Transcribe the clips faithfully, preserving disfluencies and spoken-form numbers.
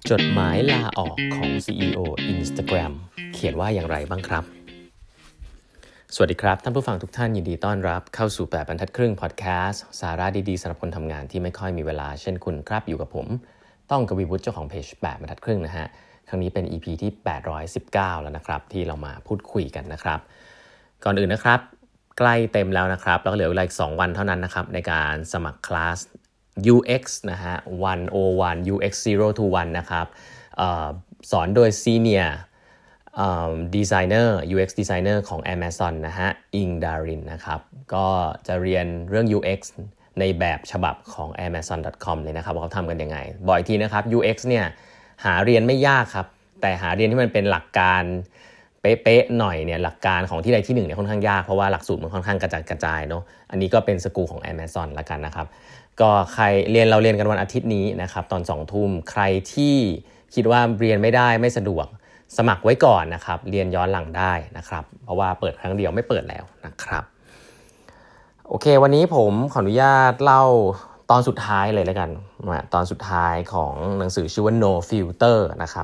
จดหมายลาออกของ ซี อี โอ Instagram เขียนว่าอย่างไรบ้างครับสวัสดีครับท่านผู้ฟังทุกท่านยินดีต้อนรับเข้าสู่แปดบรรทัดครึ่งพอดแคสต์สาระดีๆสำหรับคนทำงานที่ไม่ค่อยมีเวลาเช่นคุณครับอยู่กับผมต้องกวีวุฒิเจ้าของเพจแปดบรรทัดครึ่งนะฮะครั้งนี้เป็น อี พี ที่แปดร้อยสิบเก้าแล้วนะครับที่เรามาพูดคุยกันนะครับก่อนอื่นนะครับใกล้เต็มแล้วนะครับแล้วก็เหลือเวลาอีกสองวันเท่านั้นนะครับในการสมัครคลาส ยู เอ็กซ์ นะฮะหนึ่งศูนย์หนึ่ง ยู เอ็กซ์ ศูนย์ ถึงหนึ่งนะครับเอ่อสอนโดย Senior เอ่อ Designer ยู เอ็กซ์ Designer ของ Amazon นะฮะอิงดารินนะครับก็จะเรียนเรื่อง ยู เอ็กซ์ ในแบบฉบับของ แอมะซอน ดอท คอม เลยนะครับว่าเขาทำกันยังไงบอกอีกทีนะครับ ยู เอ็กซ์ เนี่ยหาเรียนไม่ยากครับแต่หาเรียนที่มันเป็นหลักการเป๊ะๆหน่อยเนี่ยหลักการของที่ใดที่หนึ่งเนี่ยค่อนข้างยากเพราะว่าหลักสูตรมันค่อนข้างกระจัดกระจายเนาะอันนี้ก็เป็นสกูลของ Amazon ละกันนะครับก็ใครเรียนเราเรียนกันวันอาทิตย์นี้นะครับตอนสองทุ่มใครที่คิดว่าเรียนไม่ได้ไม่สะดวกสมัครไว้ก่อนนะครับเรียนย้อนหลังได้นะครับเพราะว่าเปิดครั้งเดียวไม่เปิดแล้วนะครับโอเควันนี้ผมขออนุญาตเล่าตอนสุดท้ายเลยแล้วกันตอนสุดท้ายของหนังสือชื่อว่า No Filter นะครับ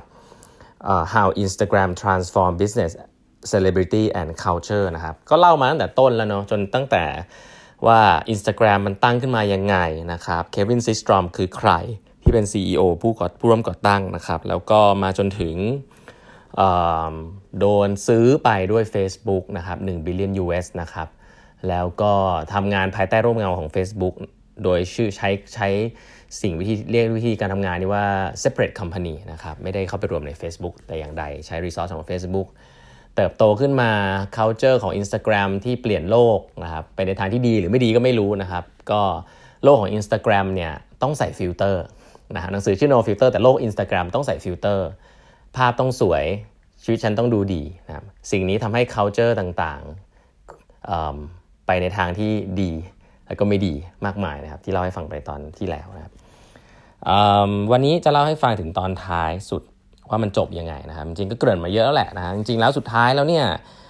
uh, How Instagram Transform Business Celebrity and Culture นะครับก็เล่ามาตั้งแต่ต้นแล้วเนาะจนตั้งแต่ว่า Instagram มันตั้งขึ้นมายังไงนะครับเควินซิสตรอมคือใครที่เป็น ซี อี โอ ผู้ก่อผู้ร่วมก่อตั้งนะครับแล้วก็มาจนถึงโดนซื้อไปด้วย Facebook นะครับหนึ่ง billion ยู เอส นะครับแล้วก็ทำงานภายใต้ร่มเงาของ Facebook โดยชื่อใช้ใช้สิ่งวิธีเรียกวิธีการทำงานนี้ว่า separate company นะครับไม่ได้เข้าไปรวมใน Facebook แต่อย่างใดใช้ resource ของ Facebookเติบโตขึ้นมา culture ของ Instagram ที่เปลี่ยนโลกนะครับไปในทางที่ดีหรือไม่ดีก็ไม่รู้นะครับก็โลกของ Instagram เนี่ยต้องใส่ฟิลเตอร์นะฮะหนังสือชื่อ No Filter แต่โลก Instagram ต้องใส่ฟิลเตอร์ภาพต้องสวยชีวิตฉันต้องดูดีนะครับสิ่งนี้ทำให้ culture ต่างๆไปในทางที่ดีแล้วก็ไม่ดีมากมายนะครับที่เล่าให้ฟังไปตอนที่แล้วนะครับวันนี้จะเล่าให้ฟังถึงตอนท้ายสุดว่ามันจบยังไงนะครับจริงๆก็เกริ่นมาเยอะแล้วแหละนะฮะจริงๆแล้วสุดท้ายแล้วเนี่ย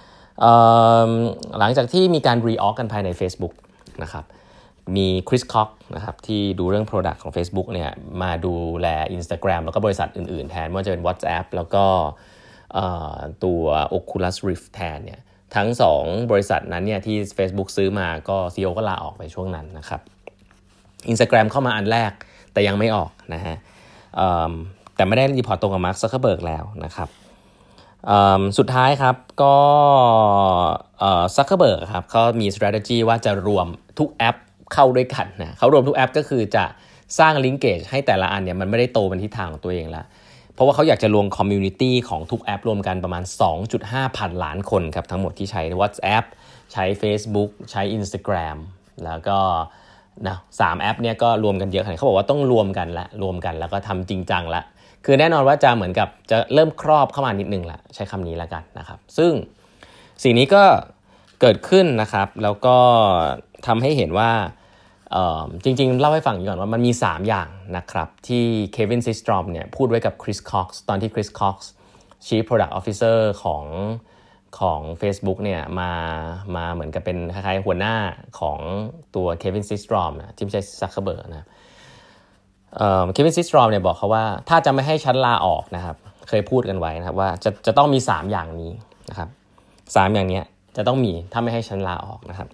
หลังจากที่มีการ reorg กันภายใน Facebook นะครับมีคริสคอกนะครับที่ดูเรื่อง product ของ Facebook เนี่ยมาดูแล Instagram แล้วก็บริษัทอื่นๆแทนไม่ว่าจะเป็น WhatsApp แล้วก็ตัว Oculus Rift แทนเนี่ยทั้งสองบริษัทนั้นเนี่ยที่ Facebook ซื้อมาก็ ซี อี โอ ก็ลาออกไปช่วงนั้นนะครับ Instagram เข้ามาอันแรกแต่ยังไม่ออกนะฮะแต่ไม่ได้รีพอร์ตตรงกับมาร์ค ซักเคอร์เบิร์กแล้วนะครับสุดท้ายครับก็ซักเคอร์เบิร์กครับเขามี strategy ว่าจะรวมทุกแอปเข้าด้วยกันนะเขารวมทุกแอปก็คือจะสร้าง linkage ให้แต่ละอันเนี่ยมันไม่ได้โตเป็นทิศทางของตัวเองแล้วเพราะว่าเขาอยากจะรวม community ของทุกแอปรวมกันประมาณ สองจุดห้า พันล้านคนครับทั้งหมดที่ใช้ WhatsApp ใช้ Facebook ใช้ Instagram แล้วก็นะสามแอปเนี่ยก็รวมกันเยอะขนาดเขาบอกว่าต้องรวมกันละรวมกันแล้วก็ทำจริงจังละคือแน่นอนว่าจะเหมือนกับจะเริ่มครอบเข้ามานิดนึงละใช้คำนี้ละกันนะครับซึ่งสิ่งนี้ก็เกิดขึ้นนะครับแล้วก็ทำให้เห็นว่าจริงๆเล่าให้ฟังก่อนว่ามันมีสามอย่างนะครับที่เควินซิสตรอมเนี่ยพูดไว้กับคริสคอกซ์ตอนที่คริสคอกซ์ Chief Product Officer ของของ Facebook เนี่ยมามาเหมือนกับเป็นคล้ายๆหัวหน้าของตัวเควินซิสตรอมนะที่ไม่ใช่ซักเคอร์เบิร์กนะเควินซิสตรอมเนี่ยบอกเขาว่าถ้าจะไม่ให้ฉันลาออกนะครับเคยพูดกันไว้นะครับว่าจะจะต้องมีสามอย่างนี้นะครับสามอย่างนี้จะต้องมีถ้าไม่ให้ฉันลาออกนะครับ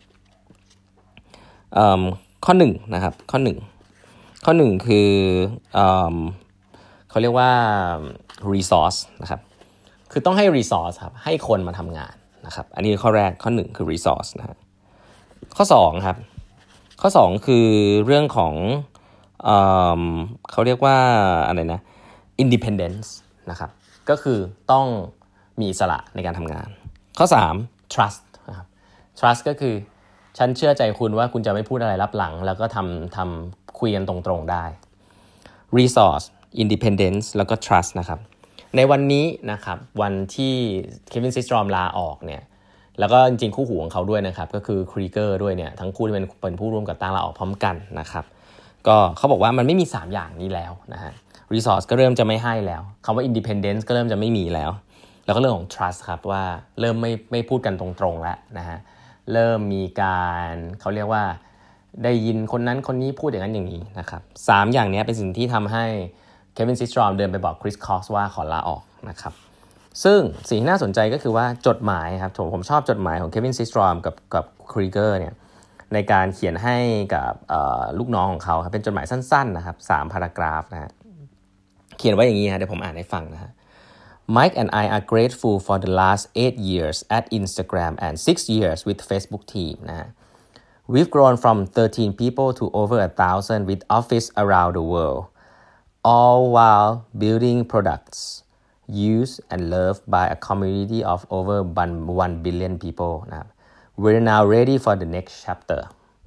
ข้อหนึ่งนะครับข้อหนึ่งข้อหนึ่งคือเอ่อเขาเรียกว่า resource นะครับคือต้องให้ resource ครับให้คนมาทำงานนะครับอันนี้ข้อแรกข้อหนึ่งคือ resource นะฮะข้อสองครับข้อสองคือเรื่องของเอ่อเขาเรียกว่าอะไรนะ independence นะครับก็คือต้องมีอิสระในการทำงานข้อสาม trust นะครับ trust ก็คือฉันเชื่อใจคุณว่าคุณจะไม่พูดอะไรลับหลังแล้วก็ทำทำคุยกันตรงๆได้ resource independence แล้วก็ trust นะครับในวันนี้นะครับวันที่เควินซิสตรอมลาออกเนี่ยแล้วก็จริงๆคู่หูของเขาด้วยนะครับก็คือครีเกอร์ด้วยเนี่ยทั้งคู่ที่เป็นเป็นผู้ร่วมก่อตั้งลาออกพร้อมกันนะครับก็เขาบอกว่ามันไม่มีสามอย่างนี้แล้วนะฮะ resource ก็เริ่มจะไม่ให้แล้วคำว่า independence ก็เริ่มจะไม่มีแล้วแล้วก็เรื่องของ trust ครับว่าเริ่มไม่ไม่พูดกันตรงๆแล้วนะฮะเริ่มมีการเขาเรียกว่าได้ยินคนนั้นคนนี้พูดอย่างนั้นอย่างนี้นะครับสามอย่างนี้เป็นสิ่งที่ทำให้เควินซิสตรอมเดินไปบอกคริสคอสว่าขอลาออกนะครับซึ่งสิ่งที่น่าสนใจก็คือว่าจดหมายครับผมผมชอบจดหมายของเควินซิสตรอมกับกับครีเกอร์เนี่ยในการเขียนให้กับลูกน้องของเขาครับเป็นจดหมายสั้นๆนะครับสามพารากราฟนะฮะเขียนไว้อย่างนี้ฮะเดี๋ยวผมอ่านให้ฟังนะฮะ Mike and I are grateful for the last eight years at Instagram and six years with Facebook team นะฮะWe've grown from thirteen people to over a thousand with office around the world, all while building products used and loved by a community of over one billion people. We're now ready for the next chapter.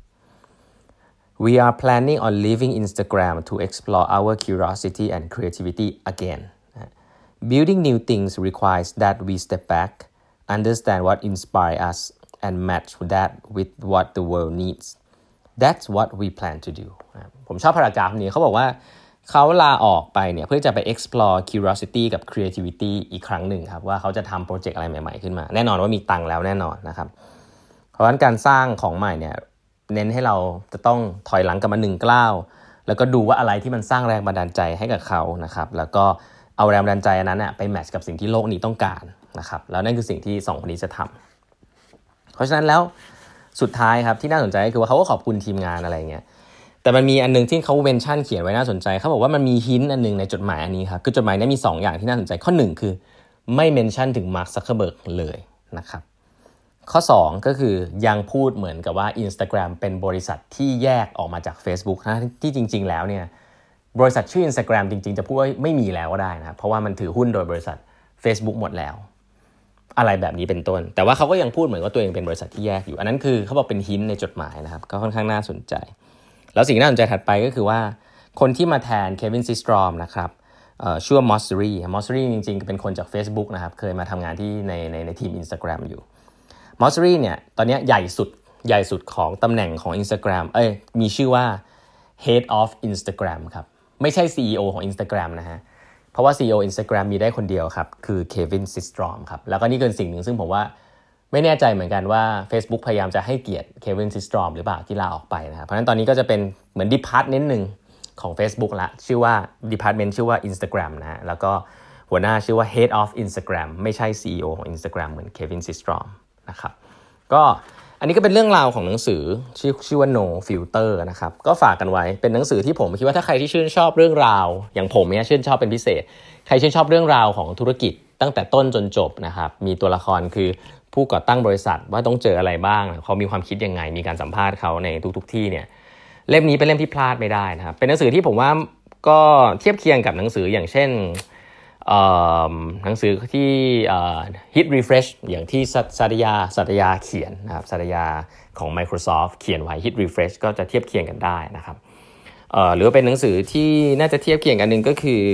We are planning on leaving Instagram to explore our curiosity and creativity again. Building new things requires that we step back, understand what inspires us,and match that with what the world needs. That's what we plan to do. ผมชอบพารากราฟนี้เขาบอกว่าเขาลาออกไปเนี่ยเพื่อจะไป explore curiosity กับ creativity อีกครั้งหนึ่งครับว่าเขาจะทำโปรเจกต์อะไรใหม่ๆขึ้นมาแน่นอนว่ามีตังค์แล้วแน่นอนนะครับเพราะฉะนั้นการสร้างของใหม่เนี่ยเน้นให้เราจะต้องถอยหลังกลับมาหนึ่งก้าวแล้วก็ดูว่าอะไรที่มันสร้างแรงบันดาลใจให้กับเขานะครับแล้วก็เอาแรงบันดาลใจนั้นนะไปแมทช์กับสิ่งที่โลกนี้ต้องการนะครับแล้วนั่นคือสิ่งที่สองคนนี้จะทำเพราะฉะนั้นแล้วสุดท้ายครับที่น่าสนใจก็คือว่าเขาก็ขอบคุณทีมงานอะไรเงี้ยแต่มันมีอันนึงที่เขาเมนชั่นเขียนไว้น่าสนใจเขาบอกว่ามันมีฮินต์อันนึงในจดหมายอันนี้ครับคือจดหมายนี้มีสองอย่างที่น่าสนใจข้อหนึ่งคือไม่เมนชั่นถึงมาร์ค ซักเคอร์เบิร์กเลยนะครับข้อสองก็คือยังพูดเหมือนกับว่า Instagram เป็นบริษัทที่แยกออกมาจาก Facebook นะที่จริงๆแล้วเนี่ยบริษัทชื่อ Instagram จริงๆจะพูดว่าไม่มีแล้วก็ได้นะเพราะว่ามันถือหุ้นโดยบริษัท Facebook หมดแล้วอะไรแบบนี้เป็นต้นแต่ว่าเขาก็ยังพูดเหมือนว่าตัวเองเป็นบริษัทที่แยกอยู่อันนั้นคือเขาบอกเป็นฮินต์ในจดหมายนะครับก็ค่อนข้างน่าสนใจแล้วสิ่งที่น่าสนใจถัดไปก็คือว่าคนที่มาแทนเควินซิสตรอมนะครับเอ่อชื่อว่ามอสซีรีมอสซีรีจริงๆเป็นคนจาก Facebook นะครับเคยมาทำงานที่ในในในทีม Instagram อยู่มอสซีรีเนี่ยตอนนี้ใหญ่สุดใหญ่สุดของตำแหน่งของ Instagram เอ้ยมีชื่อว่า Head of Instagram ครับไม่ใช่ ซี อี โอ ของ Instagram นะฮะเพราะว่า ซี อี โอ Instagram มีได้คนเดียวครับคือเควินซิสตรอมครับแล้วก็นี่คือสิ่งหนึ่งซึ่งผมว่าไม่แน่ใจเหมือนกันว่า Facebook พยายามจะให้เกียรติเควินซิสตรอมหรือเปล่าที่ลาออกไปนะครับเพราะฉะนั้นตอนนี้ก็จะเป็นเหมือน department นึงของ Facebook ละชื่อว่า department ชื่อว่า Instagram นะฮะแล้วก็หัวหน้าชื่อว่า Head of Instagram ไม่ใช่ ซี อี โอ ของ Instagram เหมือนเควินซิสตรอมนะครับก็อันนี้ก็เป็นเรื่องราวของหนังสือชื่อชื่อว่า No Filter นะครับก็ฝากกันไว้เป็นหนังสือที่ผมคิดว่าถ้าใครที่ชื่นชอบเรื่องราวอย่างผมเนี่ยชื่นชอบเป็นพิเศษใครชื่นชอบเรื่องราวของธุรกิจตั้งแต่ต้นจนจบนะครับมีตัวละครคือผู้ก่อตั้งบริษัทว่าต้องเจออะไรบ้างเขามีความคิดยังไงมีการสัมภาษณ์เขาในทุกๆที่เนี่ยเล่มนี้เป็นเล่มที่พลาดไม่ได้นะครับเป็นหนังสือที่ผมว่าก็เทียบเคียงกับหนังสืออย่างเช่นหนังสือที่ Hit Refresh อย่างที่สัตยาสัตยาเขียนนะครับสัตยาของ Microsoft เขียนไว้ Hit Refresh ก็จะเทียบเคียงกันได้นะครับหรือว่าเป็นหนังสือที่น่าจะเทียบเคียงกันนึงก็คือ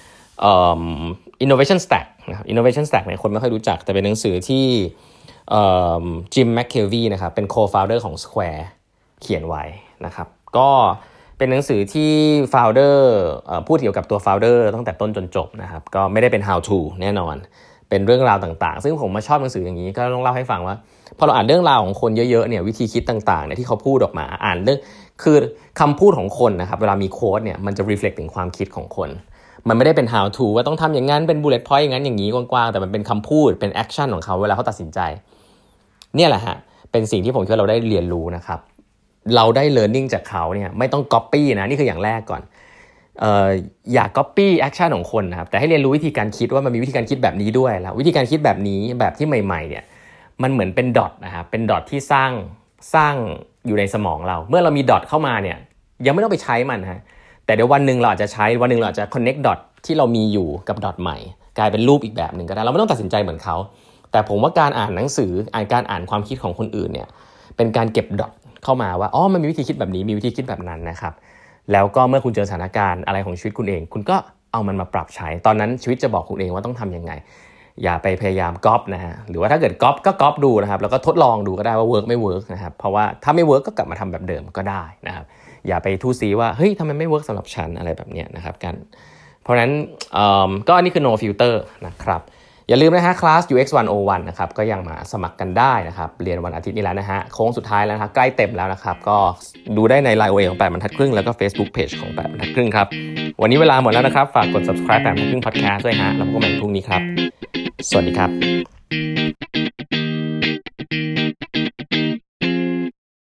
Innovation Stack นะครับ Innovation Stack เนี่ยคนไม่ค่อยรู้จักแต่เป็นหนังสือที่จิม แมคเคลวีนะครับเป็น co-founder ของ Square เขียนไว้นะครับก็เป็นหนังสือที่ founder พูดเกี่ยวกับตัว founder ตั้งแต่ต้นจนจบนะครับก็ไม่ได้เป็น how to แน่นอนเป็นเรื่องราวต่างๆซึ่งผมมาชอบหนังสืออย่างนี้ก็ต้องเล่าให้ฟังว่าพอเราอ่านเรื่องราวของคนเยอะๆเนี่ยวิธีคิดต่างๆเนี่ยที่เขาพูดออกมาอ่านเรื่องคือคำพูดของคนนะครับเวลามีโค้ดเนี่ยมันจะ reflect ถึงความคิดของคนมันไม่ได้เป็น how to ว่าต้องทำอย่างนั้นเป็น bullet point อย่างนั้นอย่างนี้กว้างๆแต่มันเป็นคำพูดเป็น action ของเขาเวลาเขาตัดสินใจเนี่ยแหละฮะเป็นสิ่งที่ผมคิดว่าเราได้เรียนรู้นะครับเราได้ learning จากเขาเนี่ยไม่ต้อง copy นะนี่คืออย่างแรกก่อนเอ่ออย่า copy action ของคนนะครับแต่ให้เรียนรู้วิธีการคิดว่ามันมีวิธีการคิดแบบนี้ด้วยแล้ววิธีการคิดแบบนี้แบบที่ใหม่ๆเนี่ยมันเหมือนเป็นดอทนะครับเป็นดอทที่สร้างสร้างอยู่ในสมองเราเมื่อเรามีดอทเข้ามาเนี่ยยังไม่ต้องไปใช้มันฮะแต่เดี๋ยววันนึงเราอาจจะใช้วันนึงเราอาจจะ connect dot ที่เรามีอยู่กับดอทใหม่กลายเป็นรูปอีกแบบนึงก็ได้เราไม่ต้องตัดสินใจเหมือนเขาแต่ผมว่าการอ่านหนังสืออ่านการอ่านความคิดของคนอื่นเนี่ยเป็นการเก็บดอทเข้ามาว่าอ๋อมันมีวิธีคิดแบบนี้มีวิธีคิดแบบนั้นนะครับแล้วก็เมื่อคุณเจอสถานการณ์อะไรของชีวิตคุณเองคุณก็เอามันมาปรับใช้ตอนนั้นชีวิตจะบอกคุณเองว่าต้องทำยังไงอย่าไปพยายามก๊อปนะฮะหรือว่าถ้าเกิดก๊อปก็ก๊อปดูนะครับแล้วก็ทดลองดูก็ได้ว่าเวิร์กไม่เวิร์กนะครับเพราะว่าถ้าไม่เวิร์กก็กลับมาทำแบบเดิมก็ได้นะครับอย่าไปทู่ซีว่าเฮ้ยทำไมไม่เวิร์กสำหรับฉันอะไรแบบนี้นะครับกันเพราะฉะนั้นก็อันนี้คือ no filter นะครับอย่าลืมนะฮะคลาส ยู เอ็กซ์ หนึ่งศูนย์หนึ่งนะครับก็ยังมาสมัครกันได้นะครับเรียนวันอาทิตย์นี้แล้วนะฮะโค้งสุดท้ายแล้วนะครับใกล้เต็มแล้วนะครับก็ดูได้ใน ไลน์ โอ เอ ของแปดบรรทัดครึ่งแล้วก็ Facebook Page ของแปดบรรทัดครึ่งครับวันนี้เวลาหมดแล้วนะครับฝากกด subscribe แปดบรรทัดครึ่ง podcast ด้วยฮะแล้วพบกันใหม่พรุ่งนี้ครับสวัสดีครับ